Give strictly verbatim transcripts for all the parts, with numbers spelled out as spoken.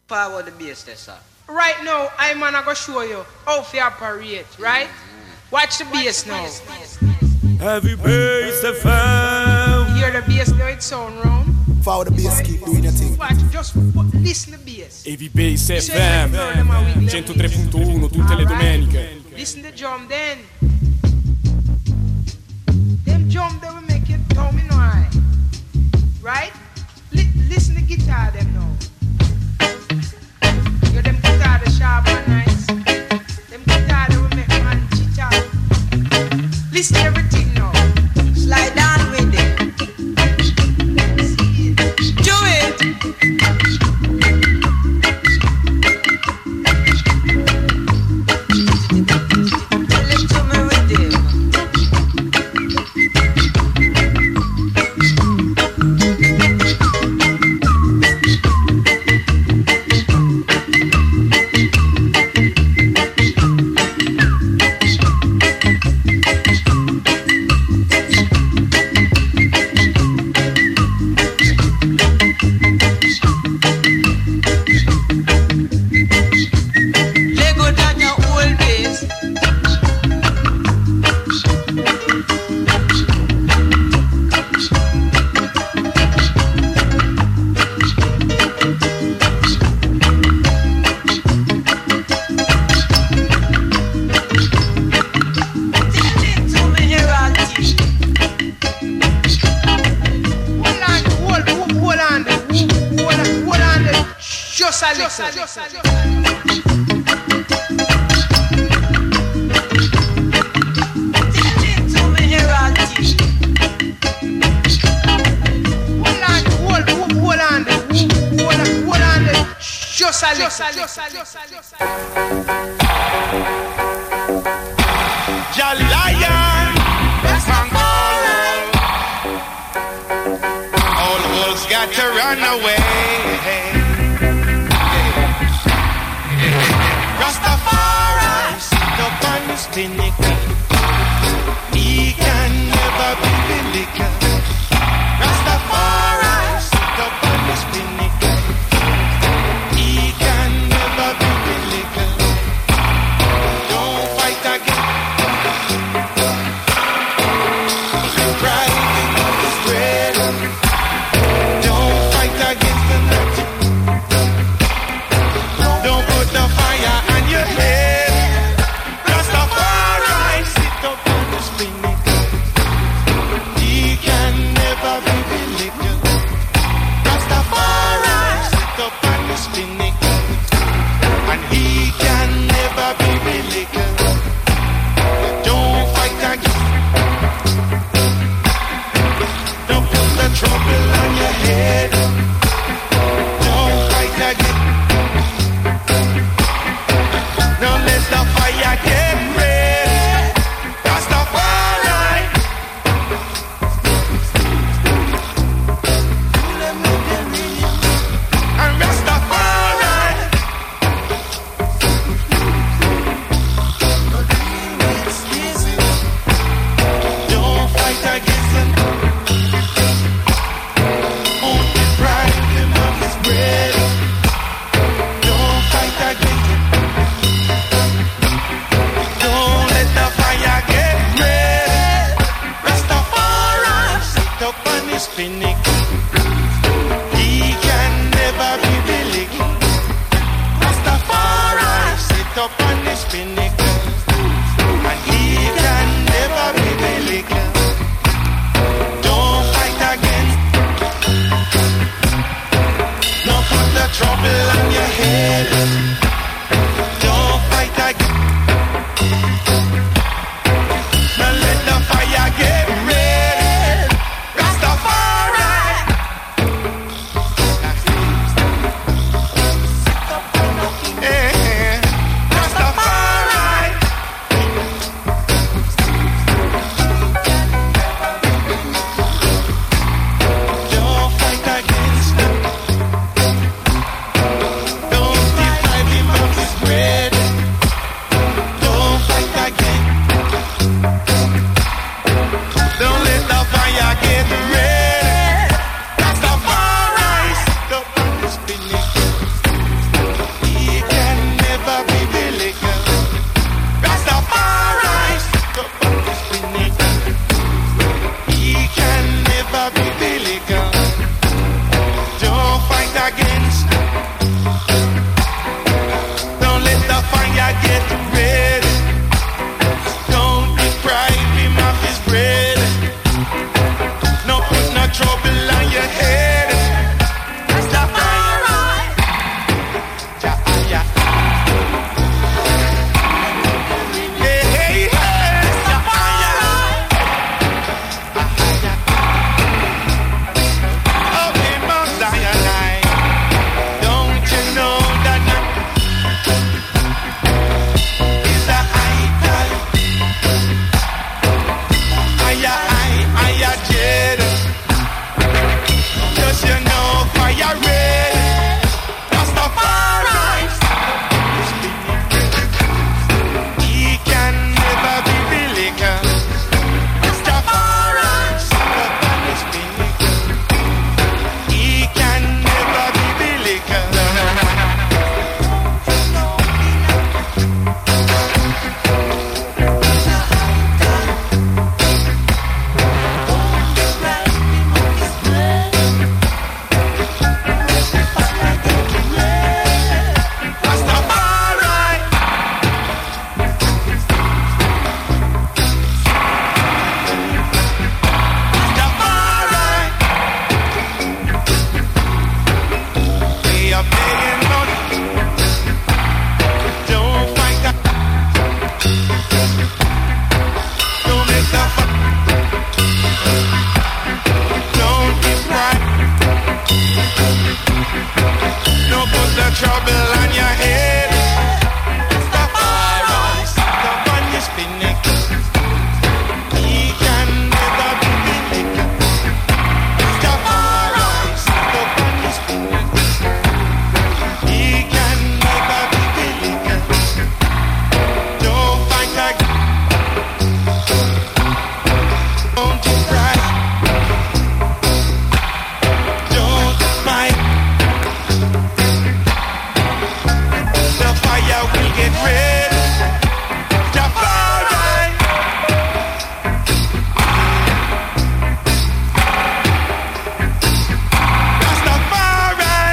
Power the bass there, sir. Right now, I'm gonna go show you how to operate, right? Mm-hmm. Watch the bass now. Heavy bass F M. Hear the bass now, it sound round. Follow the bass, keep doing your thing. Watch, just listen to the bass. Heavy bass F M. centotré punto uno tutte le domeniche. Listen to the drum then. Them drum they will make you tell me no I. Right? Li- listen to the guitar them now. Yo, them guitar the sharp and nice. Them guitar they will make man chit out. Listen to everything now. Slide down with it. See it. Do it. Tell it to me with it. Jolly Lion, all the wolves got to run away. Rastafari sit up on his pinnacle. He can never be religious. Rastafari sit up on his pinnacle. He can never be religious. Don't fight again. Rising up the spread. Don't fight against the magic. Don't put the fire on your head. Rastafari sit up on the pinnacle. He can never be religious. Rastafari sit up on the pinnacle. And he can never be religious. Don't fight against. Don't put the trouble on your head. Don't fight again. Don't let the fire get red. Rastafari. And Rastafari. Don't fight against them. Only bribe them of his bread. Don't fight against it. Don't let the fire get red. Rastafari sit up on his pinnacle. He can never be religious. Rastafari sit up on his pinnacle. And he can never be religious. Don't fight against. Don't put the trouble on your head. Don't fight again. Don't let the fire get red. Rastafari. Eh, Rastafari. Don't fight against them. Don't defy him trouble on your head. Rastafari sit up on your spinach. He can never be beat. Rastafari sit up on your spinach. He can never be beat. Don't fight again. Don't you cry. Don't fight. The fire will get red. Rastafari. Rastafari.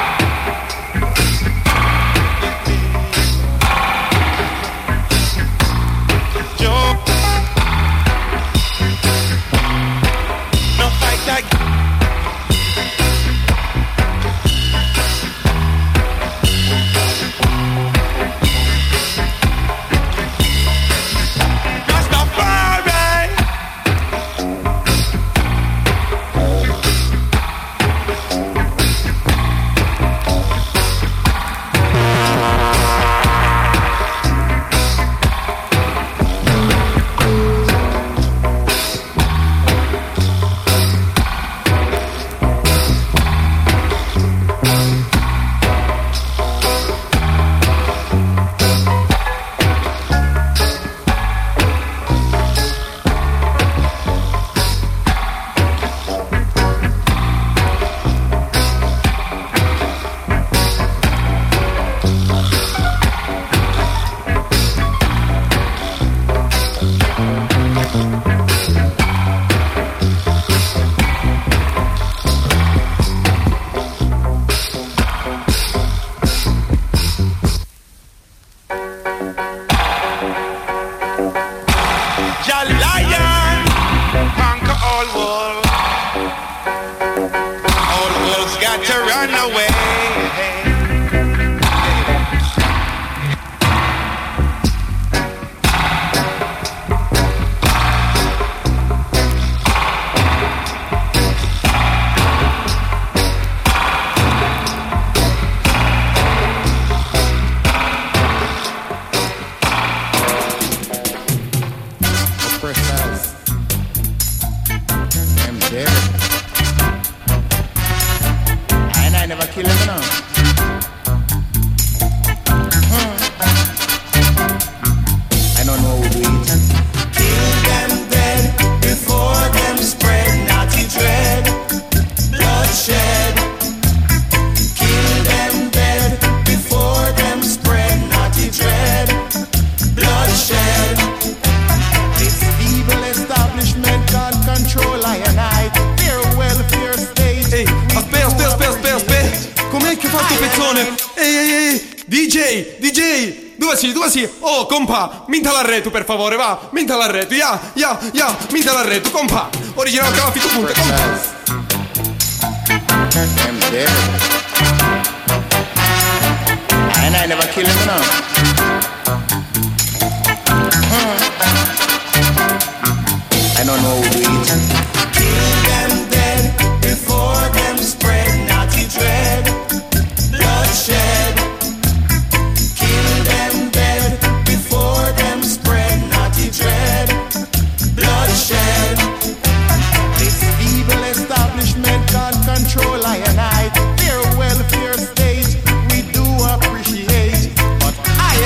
Don't no fight like Rastafari. Jah lion conquer all world. All worlds got to run away. Oppressors, I'm dead. And I never kill him now. Hmm. I don't know who do it. Kill them dead before them spread naughty dread, bloodshed. Kill them dead before them spread naughty dread, bloodshed. This evil establishment can't control I and I. Their welfare state. Ehi, aspetta, aspetta, aspetta, aspetta, aspetta. Com'è che fa sto pezzone? Ehi, ehi, ehi, D J, D J, dove sei, dove sei? Oh, compa, minta l'arreto per favore, va, minta l'arreto, ya, ya, ya, minta l'arreto, compa. Original Caffi, tu punta, compa. I'm dead. And I never kill him now. Hmm. I don't know who do it. Kill them dead before them spread naughty dread, bloodshed. Kill them dead before them spread naughty dread, bloodshed. This evil establishment can't control I and I. Their welfare state we do appreciate, but I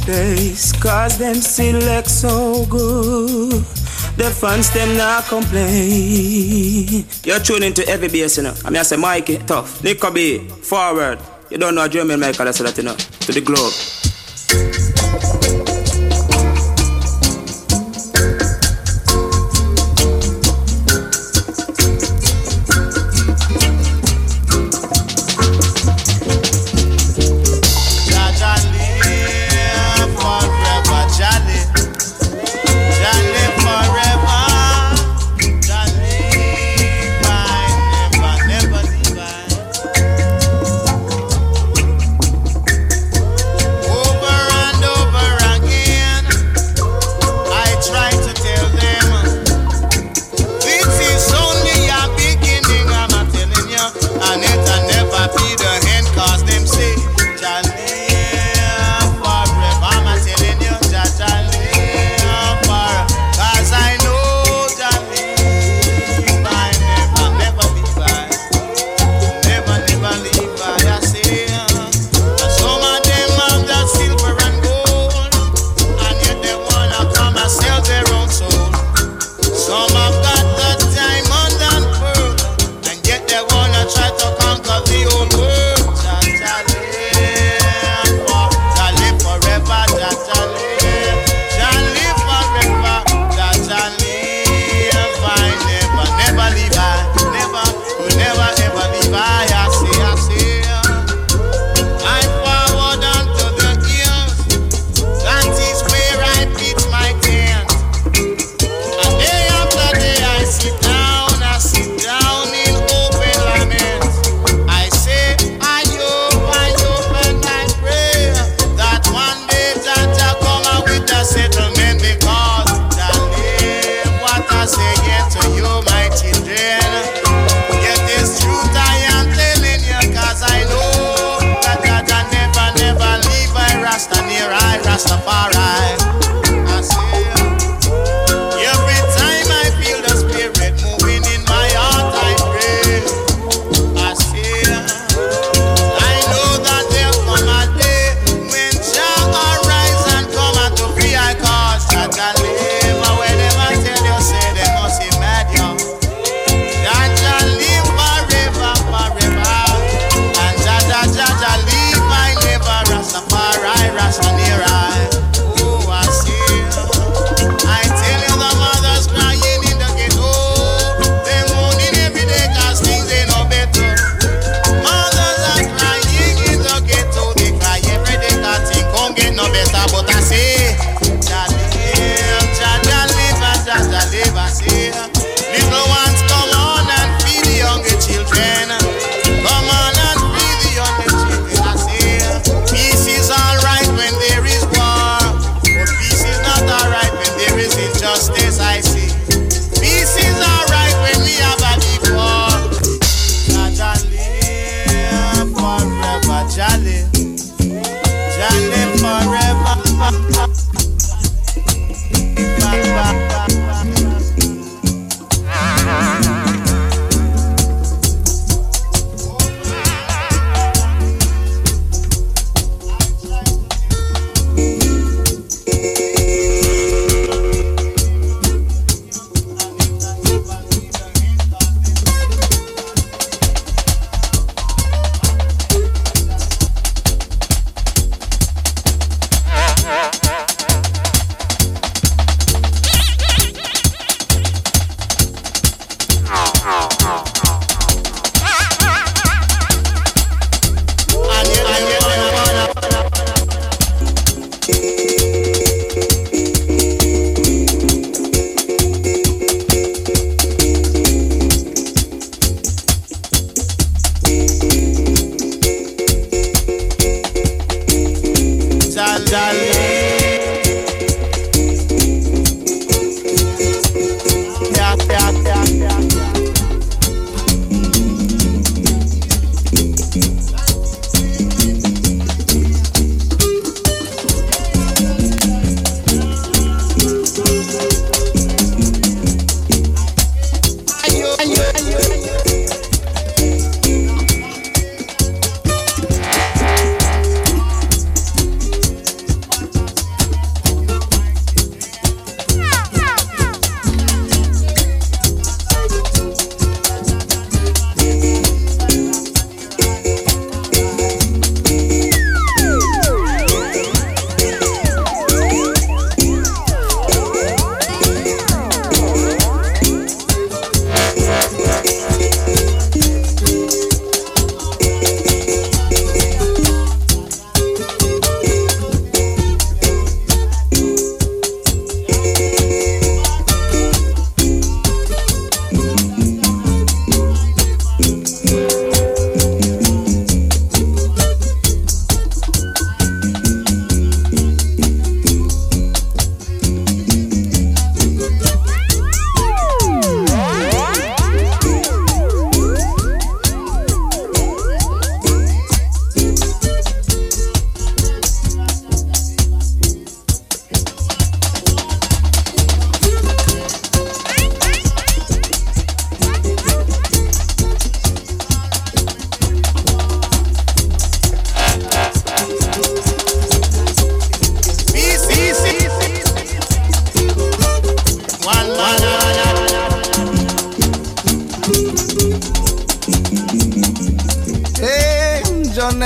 place, cause them select so good. The fans them not complain. You're tuning to Heavy Bass, you know. I mean I say Mikey, tough. Nico B, forward. You don't know a German Michael, I say that, you know. To the globe.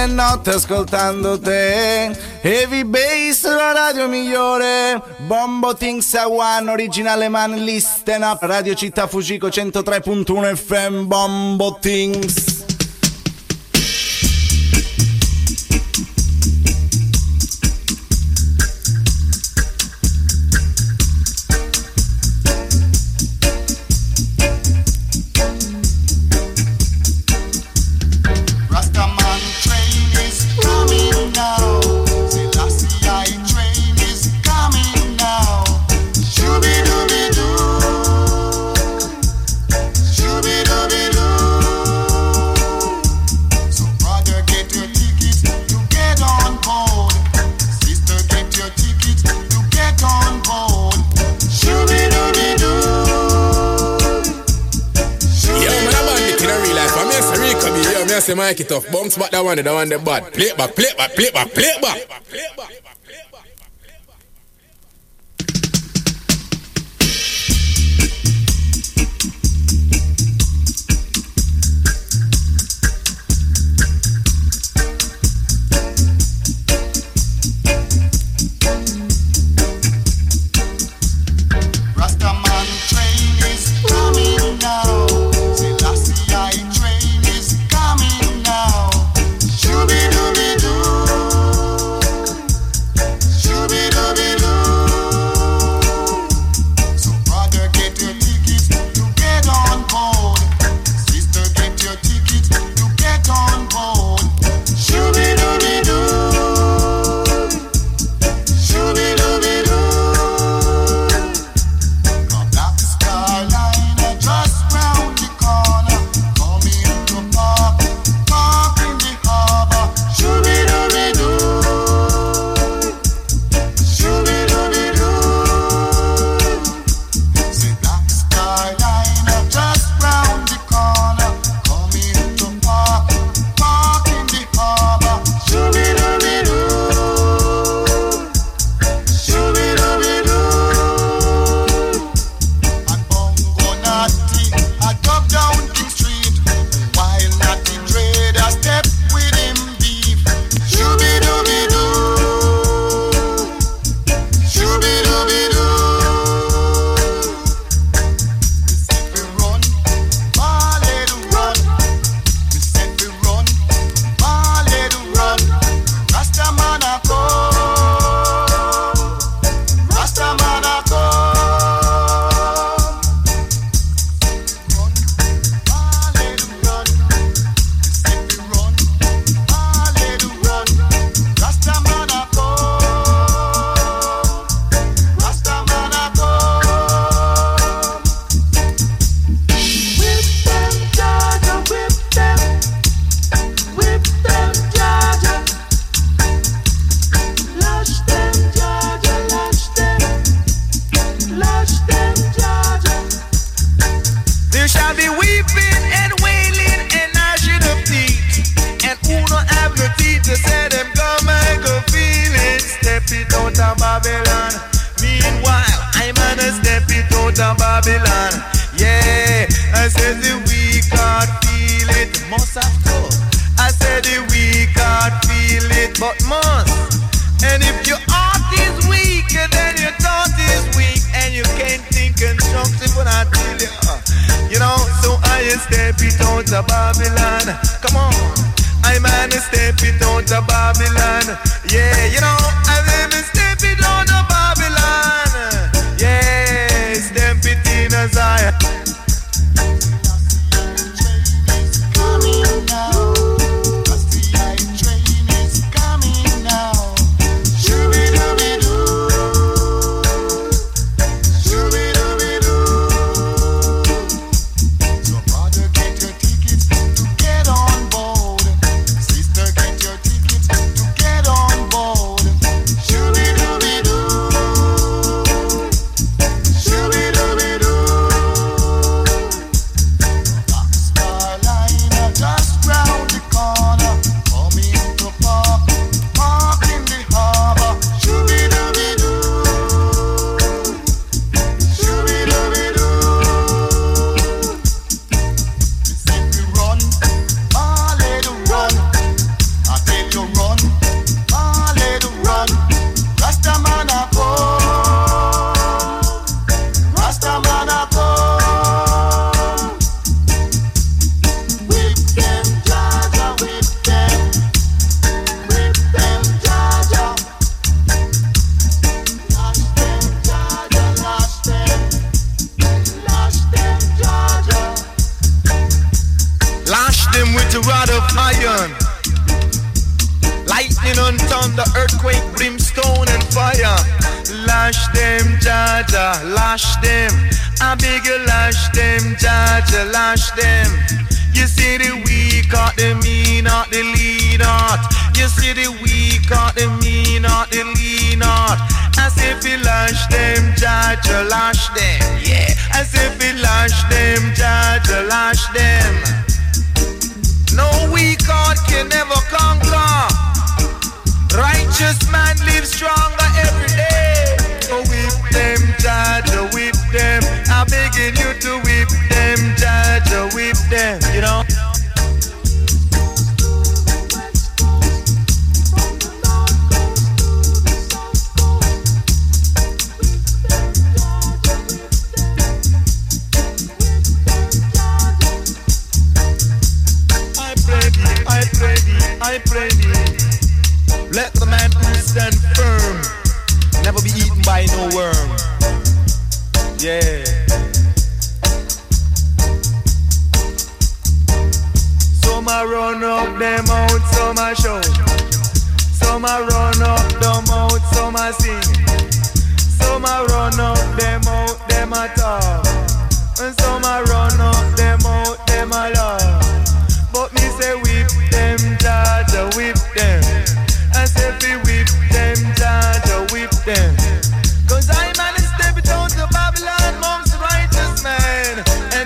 e notte ascoltando te. Heavy Bass, la radio migliore. Bombo Things a One, originale man, listen up. Radio Città Fujiko centotré punto uno F M, Bombo Things. Say mic it off, bounce back that one, that one, that bad. Play it back, play it back, play it back, play it back. Play it back. Get on board. gonna go. Whip them, Jaja, whip them. Whip them, Jaja. Lash them, Jaja, lash them. Lash them, Jaja. Lash them with a rod of iron. Lightning and thunder, earthquake, brimstone and fire. Lash them, Jaja, lash them. I beg you, lash them, Jaja, lash them. You see the weak heart, the mean heart, the lean heart. You see the weak heart, the mean heart, the lean heart. As if you lash them, Jaja, lash them. Yeah, as if you lash them, Jaja, lash them. No weak heart can never conquer. Righteous man lives stronger every day. So whip them, Jaja, whip them. I'm begging you to whip them, Jaja, whip them. You know. I pray thee, I pray thee, I pray thee. Let the man who stand firm never be eaten by no worm. Yeah. Some a run up them out, some a shout. Some a run up them out, some a sing. Some a run up them out, them a talk. And some a run up them out, them a laugh. But me say whip them, Jaja, whip them. I say we whip them, Jaja, whip them. Cause I man is stepping down to Babylon, mom's righteous man. And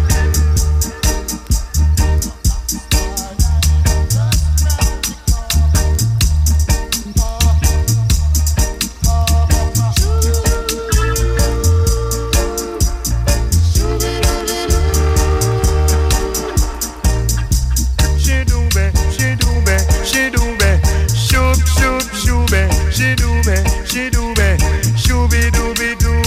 she do be, she do be, she do be. Shoop, shoop, shooby, she do be, she do be, shooby dooby doo.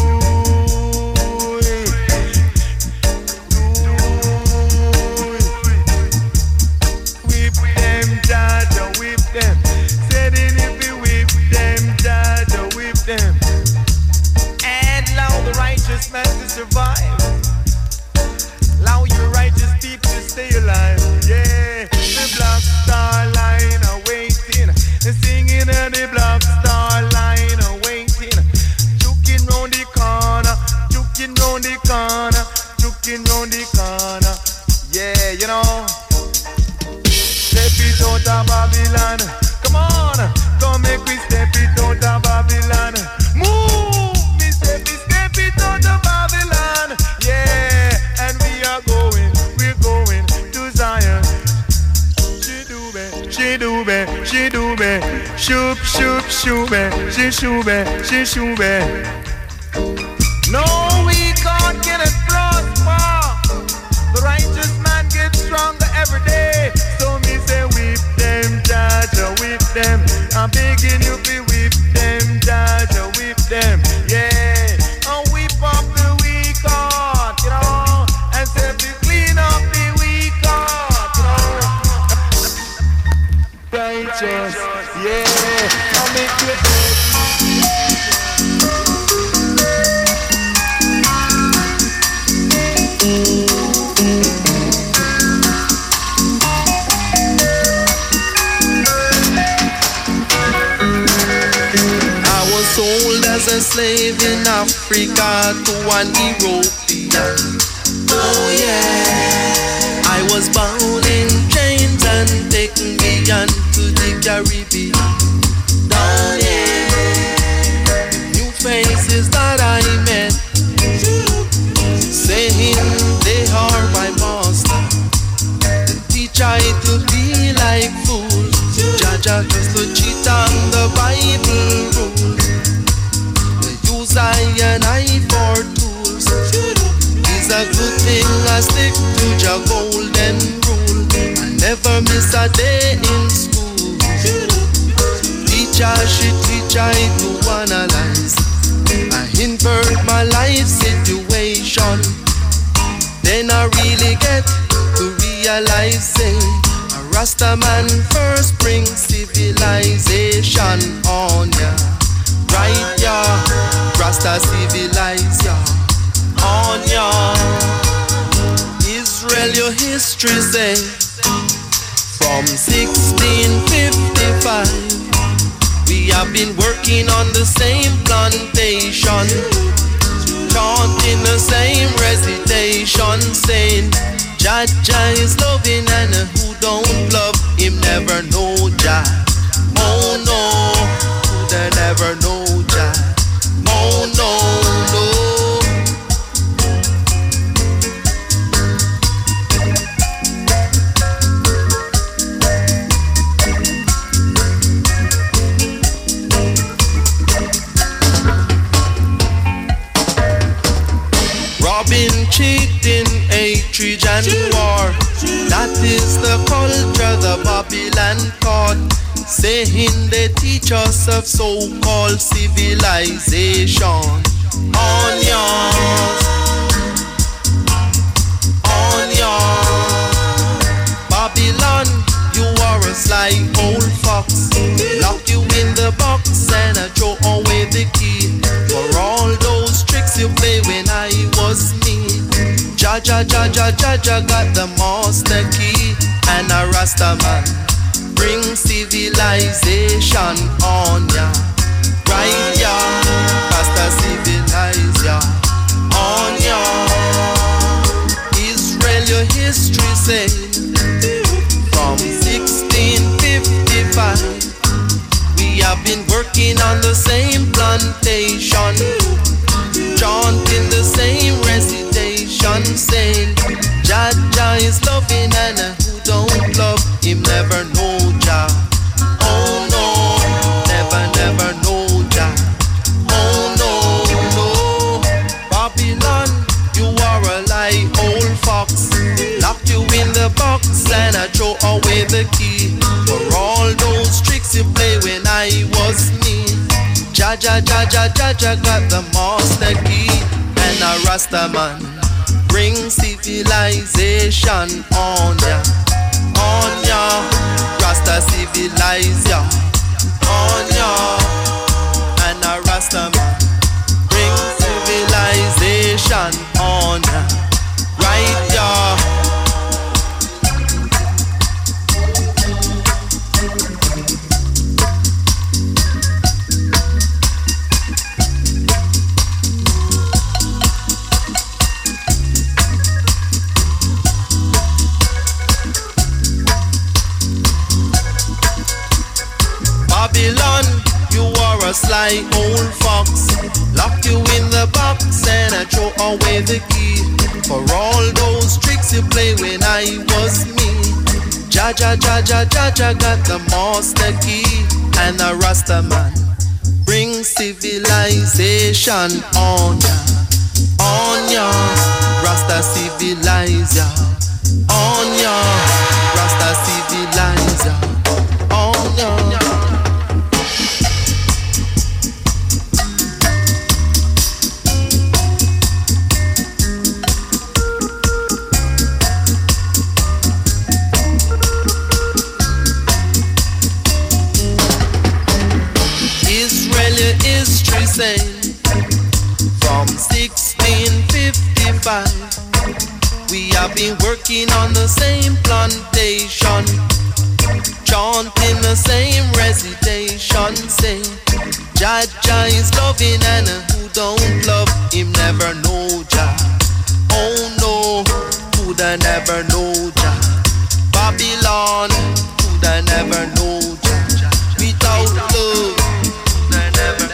Whip them, Jaja, whip them. Said it if we whip them, Jaja, whip them. And allow the righteous man to survive. Allow your righteous people to stay alive. Yeah, the black star line are waiting. Singing in the black star line are waiting. Juking round the corner, juking round the corner, juking round the corner. Yeah, you know. Step it out of Babylon. Come on, come make me step it out of Babylon. Move, me step it, step it out of Babylon. Yeah, and we are going, we're going to Zion. She do be, she do be, she do be. Shoop, shoop, shoobe, she shoobe, she shoobe. No, we can't get it prosper. The righteous man gets stronger every day. So me say whip them, Jaja, whip them. I'm begging you to whip them, Jaja, whip them. Yeah, and whip up the weak heart, you know, and say to clean up the weak heart, you know. Righteous, yeah, I'll make you. Sold as a slave in Africa to an European. Oh yeah. I was bound in chains and taken beyond to the Caribbean. Down here, new faces that I met, saying they are my master. They teach I to be like fools. Jaja just to cheat on the Bible rules. I and I for tools. It's a good thing I stick to your golden rule. I never miss a day in school. Teacher, she teach I to analyze. I invert my life situation. Rasta man first bring civilization on ya. Right ya, Rasta civilize ya on ya. Israel your history say from sixteen fifty-five we have been working on the same plantation, chanting the same recitation, saying Jah Jah is loving and who don't love him never know Jah. Oh no, who they never know Jah. Oh no, no. Robbing, cheating, hatred and war, that is the culture the Babylon taught, saying they teach us of so-called civilization. Onions, onions. Babylon, you are a sly old fox, lock you in the box and I throw away the key. For all those tricks you play when I was me, Jah Jah Jah Jah Jah Jah got the master key. And a Rasta man bring civilization on ya. Right ya, Rasta civilize ya on ya. Israel your history say from sixteen fifty-five we have been working on the same plantation, chanting the same recitation, saying Jah Jah is loving and who don't love him never know Jah. Oh no, never never know Jah. Oh no, no. Babylon, you are a lie old fox, lock you in the box and I throw away the key. For all those tricks you play when I was me, Jah Jah Jah Jah Jah Jah got the master key. And a Rasta man bring civilization on ya, on ya. Rasta civilize ya on ya. And a Rasta man bring civilization on ya. Right ya. Babylon, you are a sly old fox, lock you in the box and I throw away the key. For all those tricks you play when I was me, Jah Jah Jah Jah Jah Jah got the master key. And a Rasta man bring civilization on ya, on ya. Rasta civilize ya on ya. Rasta civilize ya on ya. History say from sixteen fifty-five we have been working on the same plantation, chanting the same recitation, say Jah Jah is loving and who don't love him never know Jah. Oh no, who'd I never know Jah. Babylon, who'd I never know Jah. Without love never.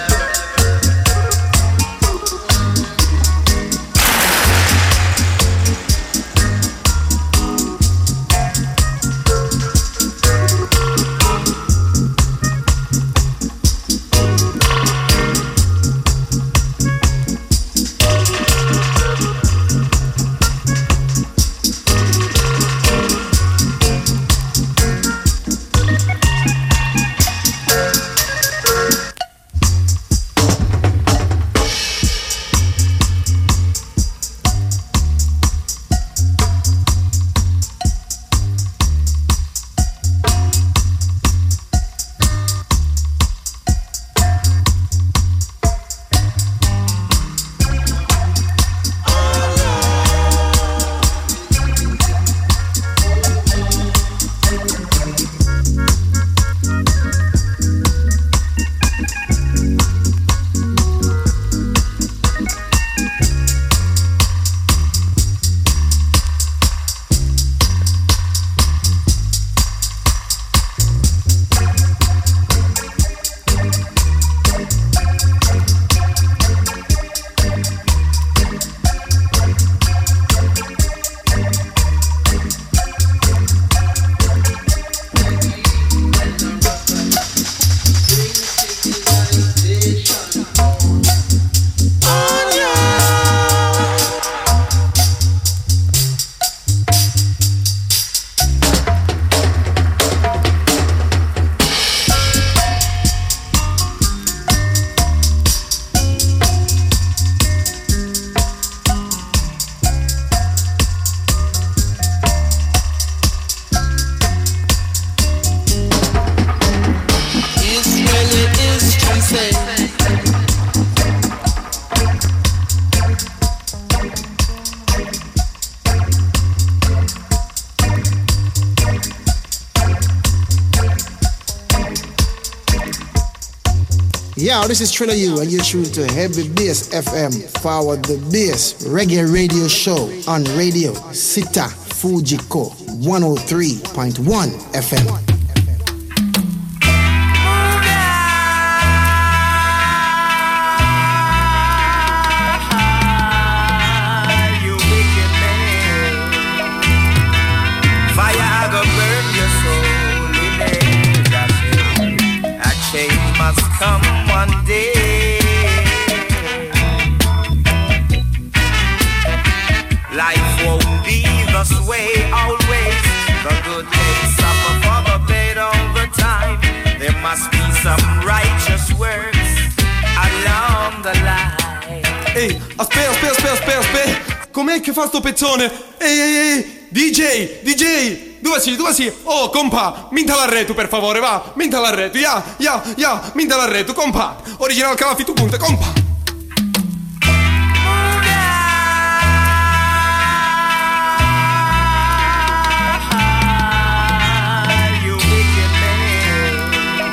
Yeah, this is Trilla U, and you're tuned to Heavy Bass F M, Forward the Bass Reggae Radio Show on Radio Sita Fujiko one oh three point one F M. Come one day, life won't be this way always. The good days suffer for the bad all the time. There must be some righteous works along the line. Ehi, aspetta, aspetta, aspetta, aspetta, aspetta. Com'è che fa sto pezzone? Ehi, ehi, ehi, D J, D J. Dove si, dove si? Oh, compa, minta l'arreto per favore, va, minta l'arreto, ya, ya, ya, minta l'arreto, compa. Original Calafi tu punte, compa. You wicked man,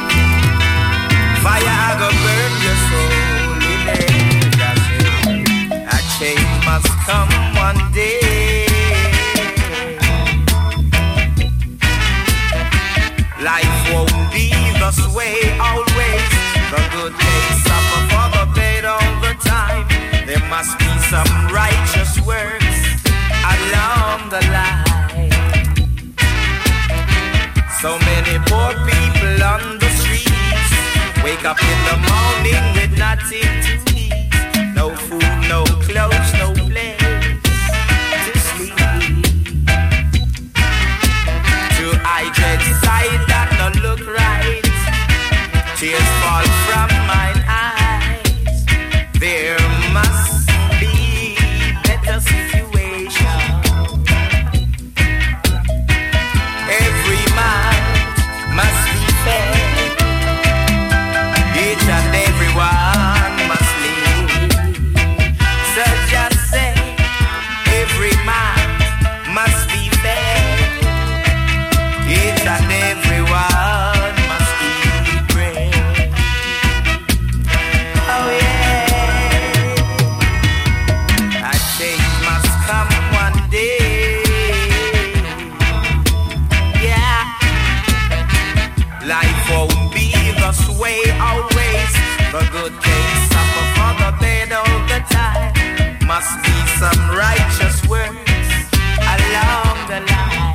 fire go burn your soul in there. A change must come one day. Life won't be this way always. The good days suffer for the bad all the time. There must be some righteous works along the line. So many poor people on the streets wake up in the morning with nothing to eat. No food, no clothes, no place to sleep. To hydrate sight that not look right. Tears fall from mine eyes. There must be better situation. Every man must be fed. Each and every one must live. So just say, every man must be fed. Each and every one must eat bread. Oh yeah, a change must come one day. Yeah, life won't be this way always. The good days suffer for the bad all the time. Must be some righteous works along the line.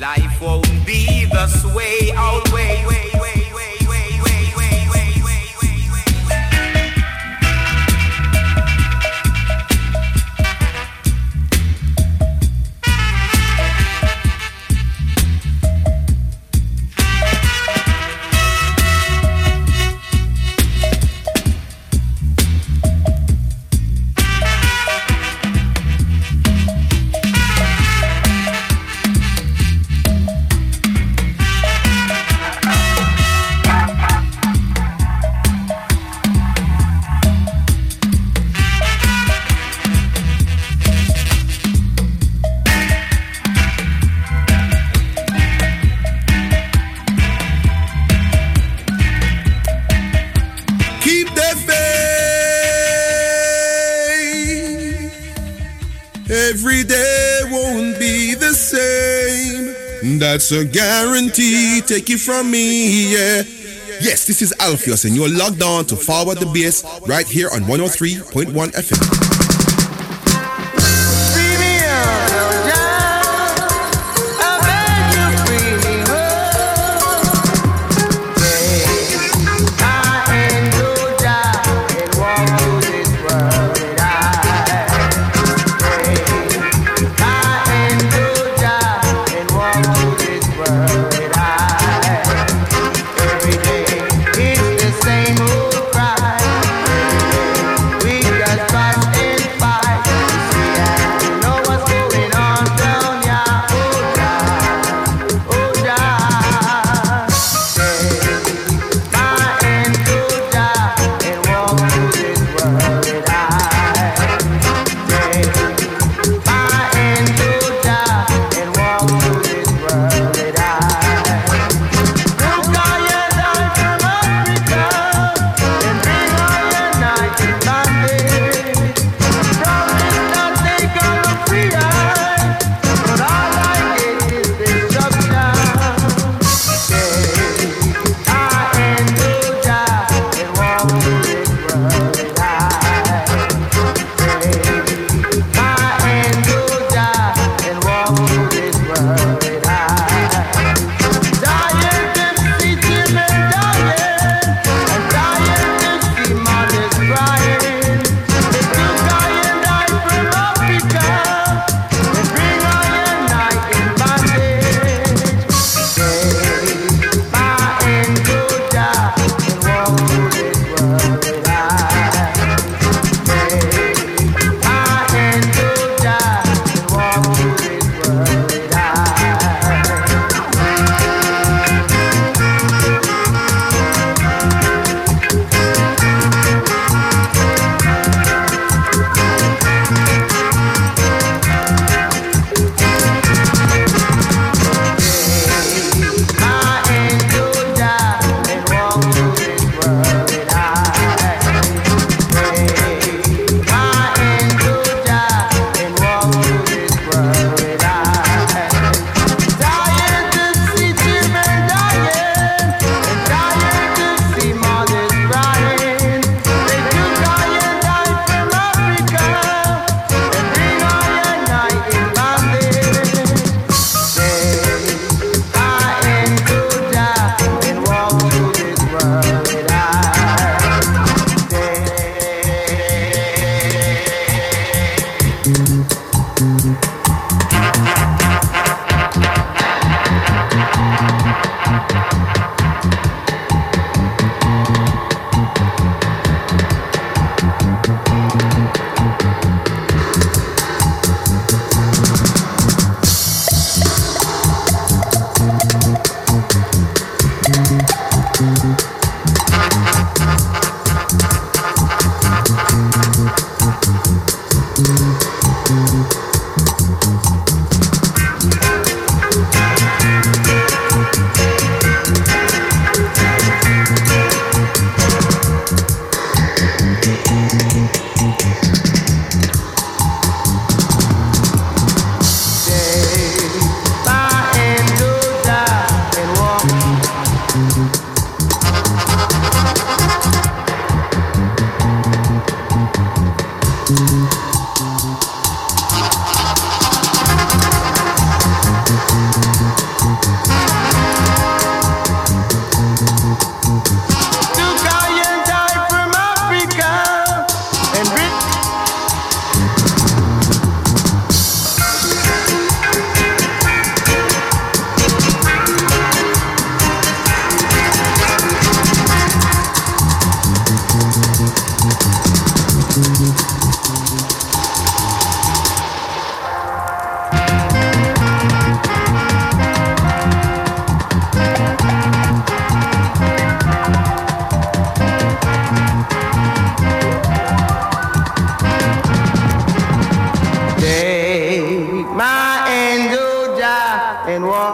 life won't be this way always. Every day won't be the same. That's a guarantee. Take it from me, yeah. Yes, this is Alpheus, and you're logged on to Forward the Bass right here on one oh three point one F M. It's the same old cry. We just pass and walk.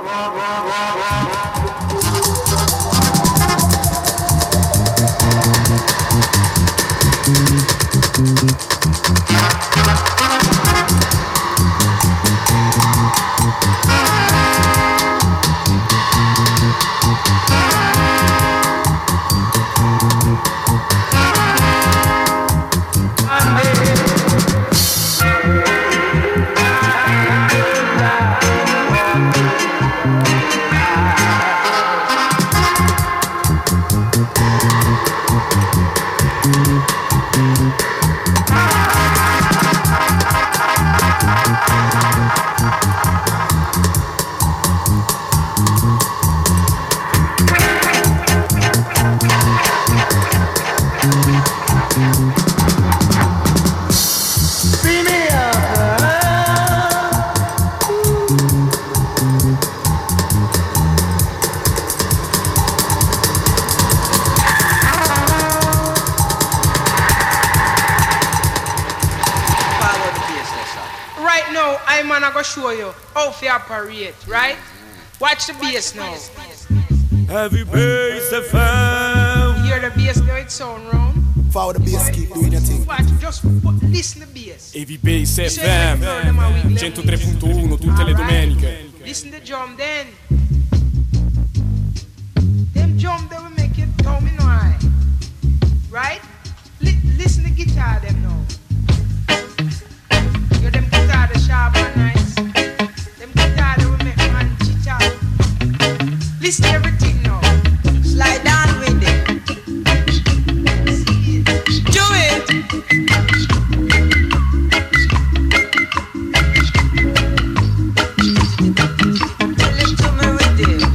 Show you how to operate, right? Watch the bass now. Heavy bass F M. Hear the bass now, it sound round. Follow the bass, keep doing your thing. Watch, just listen to the bass. Heavy bass F M. centotré punto uno tutte le domeniche. Listen to the drum then. Them drum that will make you tell me no eye. Right? Li listen to the guitar them now. Yo, them guitar the sharp and nice. Listen to everything now. Slide down with it. Do it. Tell it to me with it.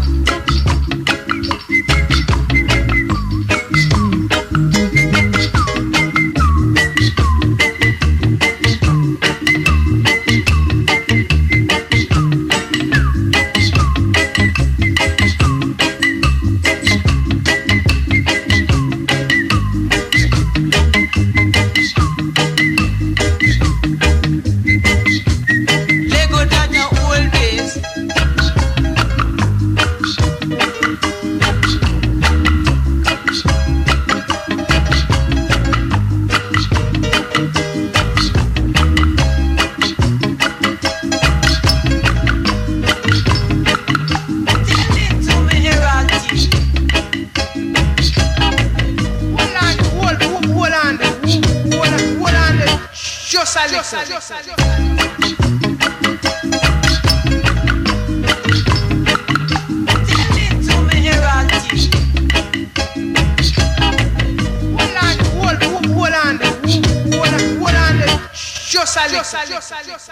Just a little.